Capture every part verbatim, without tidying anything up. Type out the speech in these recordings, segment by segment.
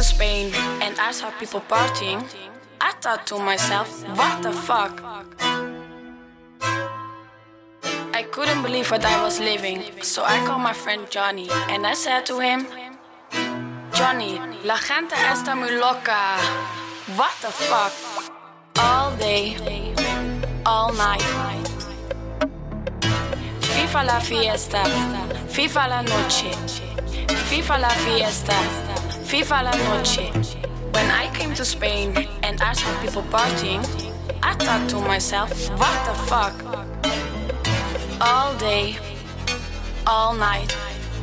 to Spain and I saw people partying, I thought to myself, what the fuck? I couldn't believe what I was living, so I called my friend Johnny and I said to him, Johnny, la gente está muy loca. What the fuck? All day, all night. FIFA la fiesta, FIFA la noche. FIFA la fiesta, FIFA la noche. When I came to Spain and I saw people partying, I thought to myself, what the fuck? All day, all night.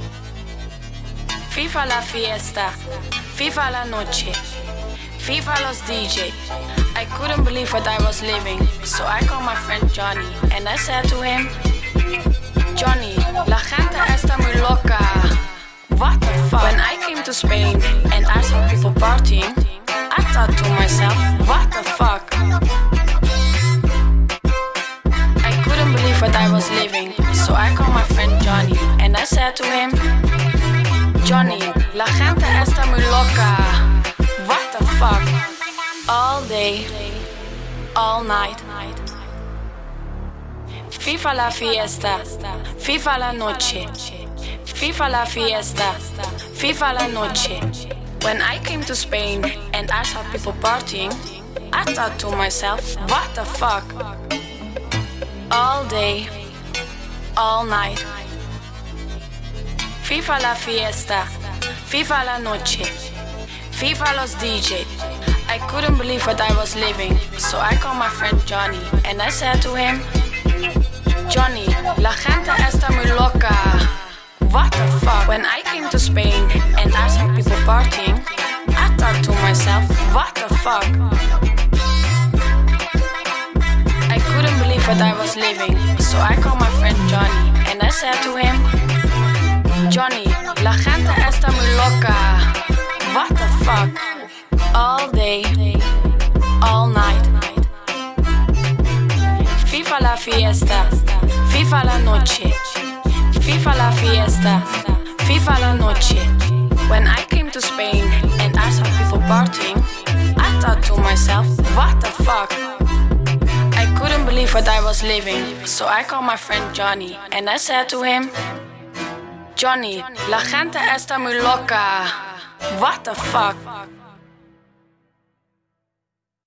FIFA la fiesta, FIFA la noche. FIFA los D J. I couldn't believe what I was living, so I called my friend Johnny and I said to him, Johnny, la gente está muy loca. What the fuck? When I came to Spain and I saw people partying, I thought to myself, what the fuck? I couldn't believe what I was living, so I called my friend Johnny and I said to him, Johnny, la gente está muy loca. What the fuck? All day, all night. FIFA la fiesta, FIFA la noche. FIFA la fiesta, FIFA la noche. When I came to Spain and I saw people partying, I thought to myself, what the fuck? All day, all night. FIFA la fiesta, FIFA la noche. FIFA los D J. I couldn't believe what I was living, so I called my friend Johnny and I said to him, Johnny, la gente está muy loca. What the fuck? When I came to Spain and I saw people partying, I thought to myself, what the fuck? I couldn't believe what I was living, so I called my friend Johnny and I said to him, Johnny, la gente está muy loca. What the fuck? All day, all night. FIFA la fiesta, FIFA la noche. FIFA la fiesta, FIFA la noche. When I came to Spain and I saw people partying, I thought to myself, what the fuck? I couldn't believe what I was living, so I called my friend Johnny and I said to him, Johnny, la gente está muy loca. What the fuck?